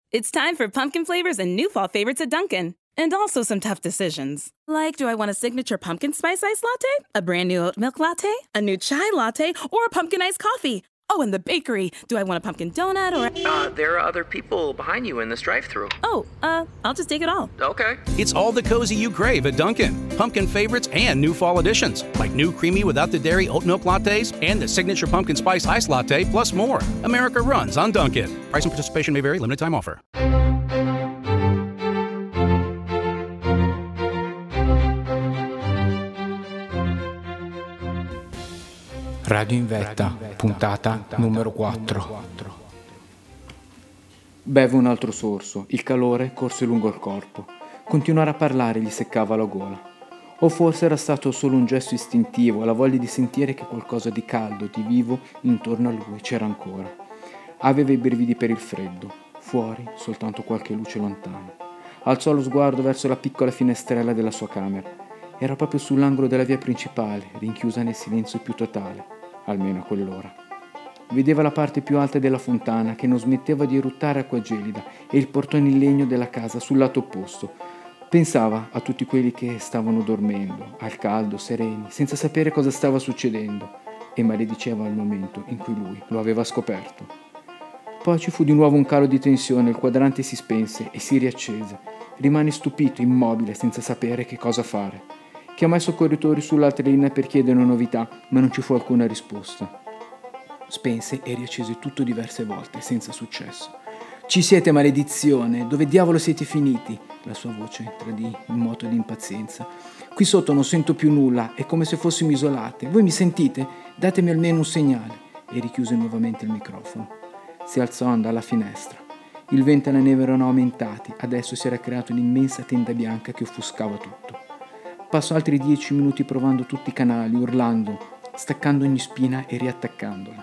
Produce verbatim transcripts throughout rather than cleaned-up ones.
It's time for pumpkin flavors and new fall favorites at Dunkin'. And also some tough decisions. Like, do I want a signature pumpkin spice iced latte? A brand new oat milk latte? A new chai latte? Or a pumpkin iced coffee? Oh, and the bakery. Do I want a pumpkin donut or a... Uh, there are other people behind you in this drive-thru. Oh, uh, I'll just take it all. Okay. It's all the cozy you crave at Dunkin'. Pumpkin favorites and new fall additions, like new creamy without the dairy oat milk lattes and the signature pumpkin spice iced latte, plus more. America runs on Dunkin'. Price and participation may vary. Limited time offer. Radio in vetta, puntata numero quattro. Beve un altro sorso, il calore corse lungo il corpo. Continuare a parlare gli seccava la gola. O forse era stato solo un gesto istintivo, la voglia di sentire che qualcosa di caldo, di vivo, intorno a lui c'era ancora. Aveva i brividi per il freddo, fuori soltanto qualche luce lontana. Alzò lo sguardo verso la piccola finestrella della sua camera. Era proprio sull'angolo della via principale, rinchiusa nel silenzio più totale. Almeno a quell'ora. Vedeva la parte più alta della fontana che non smetteva di eruttare acqua gelida e il portone in legno della casa sul lato opposto. Pensava a tutti quelli che stavano dormendo, al caldo, sereni, senza sapere cosa stava succedendo, e malediceva il momento in cui lui lo aveva scoperto. Poi ci fu di nuovo un calo di tensione, il quadrante si spense e si riaccese. Rimane stupito, immobile, senza sapere che cosa fare. Chiamò i soccorritori sull'altra linea per chiedere novità, ma non ci fu alcuna risposta. Spense e riaccese tutto diverse volte, senza successo. «Ci siete, maledizione! Dove diavolo siete finiti?» La sua voce tradì in moto di impazienza. «Qui sotto non sento più nulla, è come se fossimo isolate. Voi mi sentite? Datemi almeno un segnale!» E richiuse nuovamente il microfono. Si alzò e andò alla finestra. Il vento e la neve erano aumentati, adesso si era creata un'immensa tenda bianca che offuscava tutto. Passò altri dieci minuti provando tutti i canali, urlando, staccando ogni spina e riattaccandola.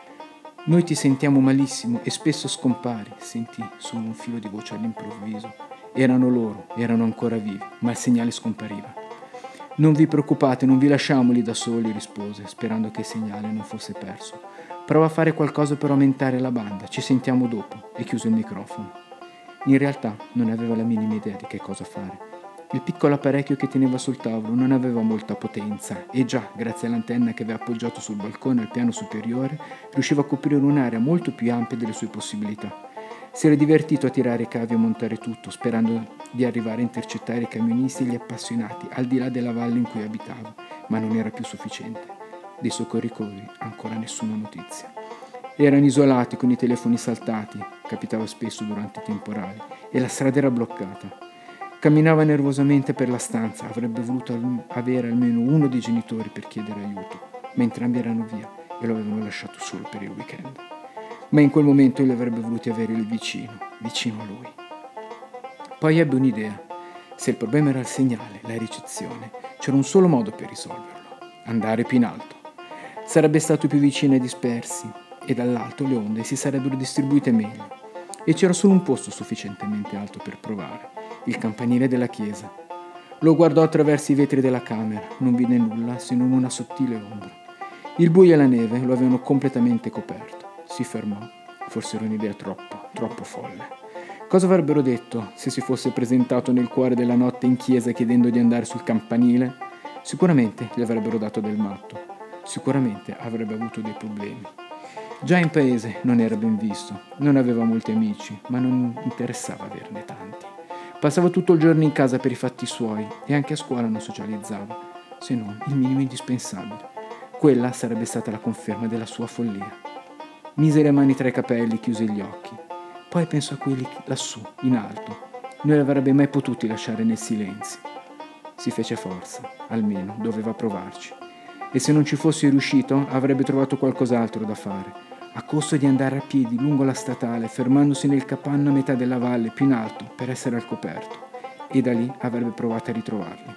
«Noi ti sentiamo malissimo e spesso scompari», sentì solo un filo di voce all'improvviso. Erano loro, erano ancora vivi, ma il segnale scompariva. «Non vi preoccupate, non vi lasciamo lì da soli», rispose, sperando che il segnale non fosse perso. «Prova a fare qualcosa per aumentare la banda, ci sentiamo dopo», e chiuse il microfono. In realtà non aveva la minima idea di che cosa fare. Il piccolo apparecchio che teneva sul tavolo non aveva molta potenza e già, grazie all'antenna che aveva appoggiato sul balcone al piano superiore, riusciva a coprire un'area molto più ampia delle sue possibilità. Si era divertito a tirare i cavi e a montare tutto, sperando di arrivare a intercettare i camionisti e gli appassionati al di là della valle in cui abitava, ma non era più sufficiente. Dei soccorritori ancora nessuna notizia. Erano isolati con i telefoni saltati, capitava spesso durante i temporali, e la strada era bloccata. Camminava nervosamente per la stanza, avrebbe voluto al- avere almeno uno dei genitori per chiedere aiuto, ma entrambi erano via e lo avevano lasciato solo per il weekend. Ma in quel momento li avrebbe voluti avere lì vicino, vicino a lui. Poi ebbe un'idea. Se il problema era il segnale, la ricezione, c'era un solo modo per risolverlo: andare più in alto. Sarebbe stato più vicino ai dispersi e dall'alto le onde si sarebbero distribuite meglio. E c'era solo un posto sufficientemente alto per provare: il campanile della chiesa. Lo guardò attraverso i vetri della camera, non vide nulla se non una sottile ombra. Il buio e la neve lo avevano completamente coperto. Si fermò, forse era un'idea troppo, troppo folle. Cosa avrebbero detto se si fosse presentato nel cuore della notte in chiesa chiedendo di andare sul campanile? Sicuramente gli avrebbero dato del matto, sicuramente avrebbe avuto dei problemi. Già in paese non era ben visto, non aveva molti amici, ma non interessava averne tanti. Passava tutto il giorno in casa per i fatti suoi e anche a scuola non socializzava, se non il minimo indispensabile. Quella sarebbe stata la conferma della sua follia. Mise le mani tra i capelli, chiuse gli occhi. Poi pensò a quelli lassù, in alto. Non li avrebbe mai potuti lasciare nel silenzio. Si fece forza, almeno doveva provarci. E se non ci fosse riuscito, avrebbe trovato qualcos'altro da fare, a costo di andare a piedi lungo la statale, fermandosi nel capanno a metà della valle, più in alto, per essere al coperto, e da lì avrebbe provato a ritrovarli.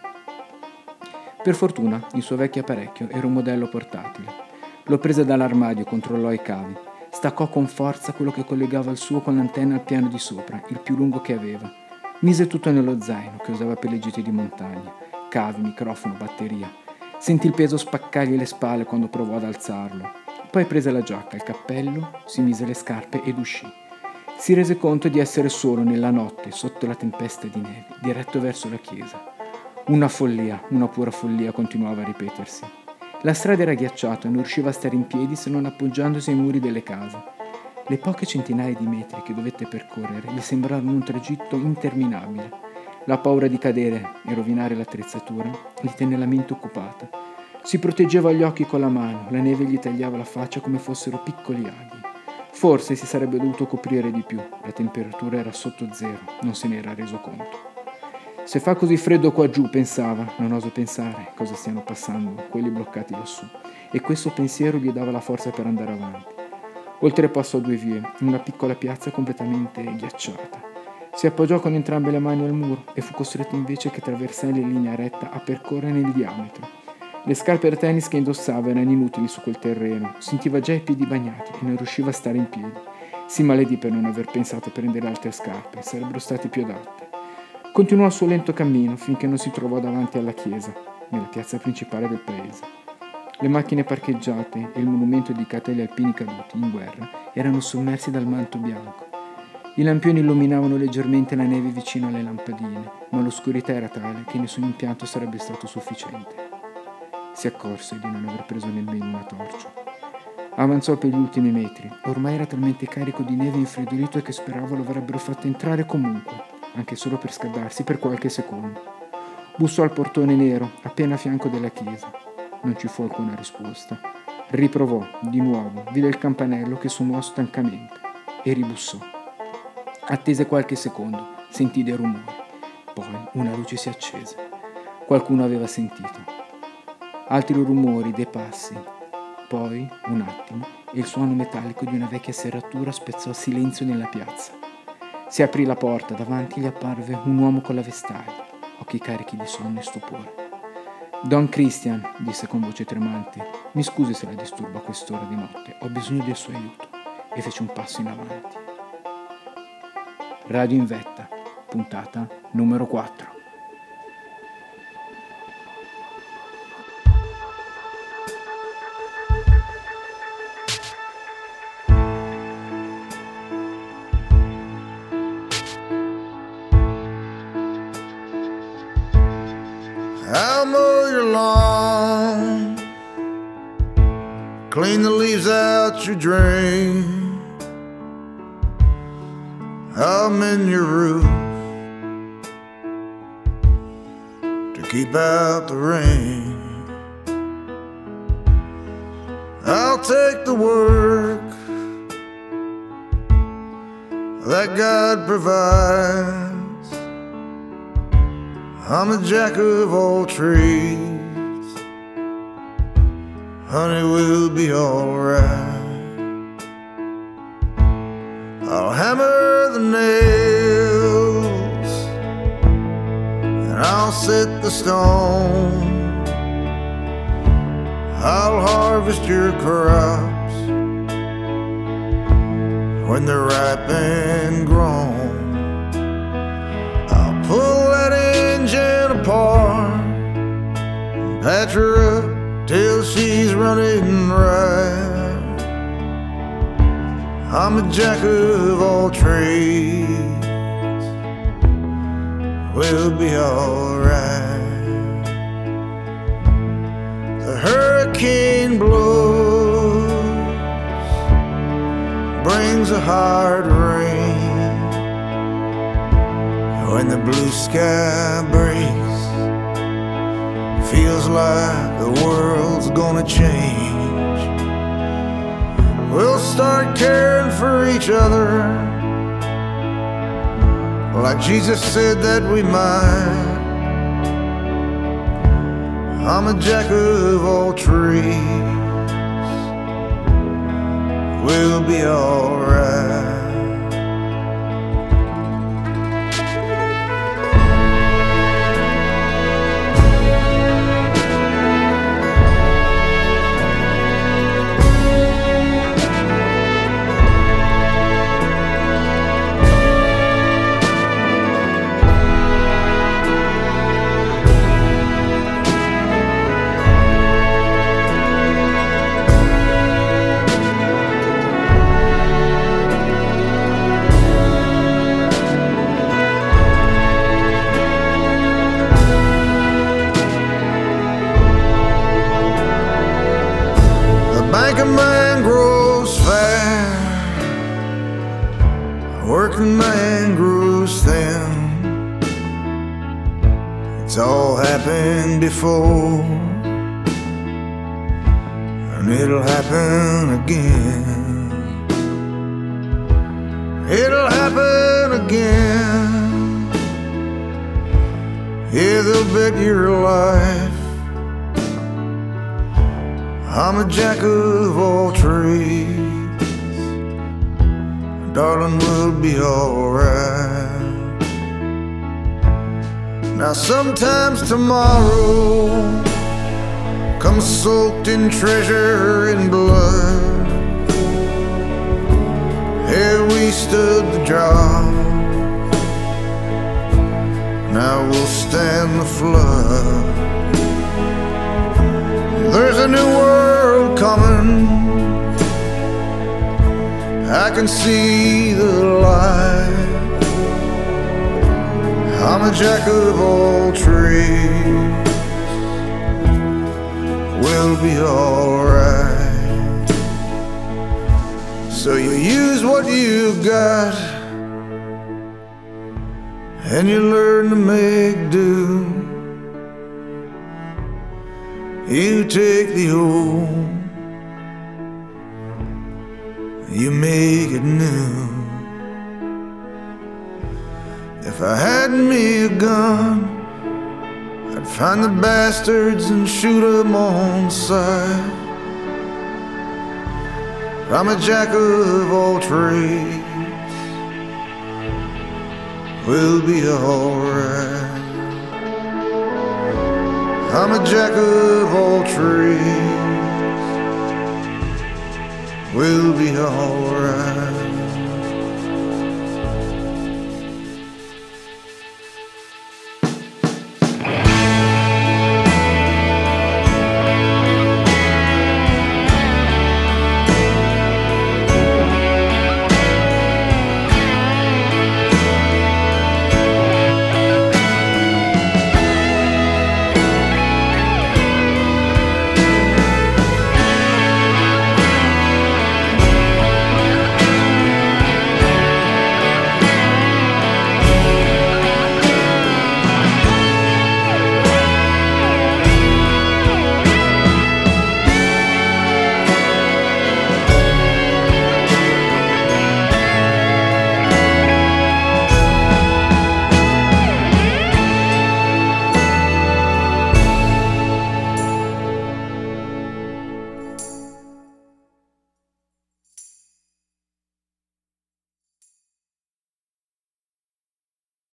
Per fortuna, il suo vecchio apparecchio era un modello portatile. Lo prese dall'armadio, controllò i cavi, staccò con forza quello che collegava il suo con l'antenna al piano di sopra, il più lungo che aveva. Mise tutto nello zaino che usava per le gite di montagna, cavi, microfono, batteria. Sentì il peso spaccargli le spalle quando provò ad alzarlo. Poi prese la giacca, il cappello, si mise le scarpe ed uscì. Si rese conto di essere solo nella notte, sotto la tempesta di neve, diretto verso la chiesa. Una follia, una pura follia, continuava a ripetersi. La strada era ghiacciata, non riusciva a stare in piedi se non appoggiandosi ai muri delle case. Le poche centinaia di metri che dovette percorrere gli sembrarono un tragitto interminabile. La paura di cadere e rovinare l'attrezzatura gli tenne la mente occupata. Si proteggeva gli occhi con la mano, la neve gli tagliava la faccia come fossero piccoli aghi. Forse si sarebbe dovuto coprire di più, la temperatura era sotto zero, non se ne era reso conto. Se fa così freddo qua giù, pensava, non oso pensare cosa stiano passando quelli bloccati lassù, e questo pensiero gli dava la forza per andare avanti. Oltrepassò due vie, in una piccola piazza completamente ghiacciata. Si appoggiò con entrambe le mani al muro e fu costretto invece che attraversare in linea retta a percorrere il diametro. Le scarpe da tennis che indossava erano inutili su quel terreno, sentiva già i piedi bagnati e non riusciva a stare in piedi. Si maledì per non aver pensato a prendere altre scarpe, sarebbero state più adatte. Continuò il suo lento cammino finché non si trovò davanti alla chiesa, nella piazza principale del paese. Le macchine parcheggiate e il monumento dedicato agli alpini caduti in guerra erano sommersi dal manto bianco. I lampioni illuminavano leggermente la neve vicino alle lampadine, ma l'oscurità era tale che nessun impianto sarebbe stato sufficiente. Si accorse di non aver preso nemmeno una torcia. Avanzò per gli ultimi metri. Ormai era talmente carico di neve infreddolito che sperava lo avrebbero fatto entrare comunque, anche solo per scaldarsi per qualche secondo. Bussò al portone nero, appena a fianco della chiesa. Non ci fu alcuna risposta. Riprovò, di nuovo, vide il campanello che suonò stancamente e ribussò. Attese qualche secondo, sentì dei rumori. Poi una luce si accese. Qualcuno aveva sentito. Altri rumori, dei passi. Poi, un attimo, e il suono metallico di una vecchia serratura spezzò il silenzio nella piazza. Si aprì la porta, davanti gli apparve un uomo con la vestaglia, occhi carichi di sonno e stupore. Don Christian, disse con voce tremante, mi scusi se la disturbo a quest'ora di notte, ho bisogno del suo aiuto, e fece un passo in avanti. Radio in vetta, puntata numero quattro. I'll mow your lawn, clean the leaves out your drain, I'll mend your roof to keep out the rain. I'll take the work that God provides. I'm a jack of all trades, honey, we'll be alright. I'll hammer the nails and I'll set the stone. I'll harvest your crops when they're ripe and grown. I'll pull that engine apart, patch her up till she's running right. I'm a jack of all trades, we'll be alright. The hurricane blows, brings a hard rain. When the blue sky breaks, feels like the world's gonna change. We'll start caring for each other like Jesus said that we might. I'm a jack of all trades, we'll be alright. man grows thin. It's all happened before, and it'll happen again. It'll happen again. Yeah, they'll bet your life I'm a jack of all trades. Darling, we'll be alright. Now sometimes tomorrow comes soaked in treasure and blood. Here we stood the drought, now we'll stand the flood. There's a new world coming, I can see the light. I'm a jack of all trades, we'll be alright. So you use what you got, and you learn to make do. You take the old, you make it new. If I had me a gun, I'd find the bastards and shoot 'em on sight. I'm a jack of all trades, we'll be alright. I'm a jack of all trades, we'll be alright.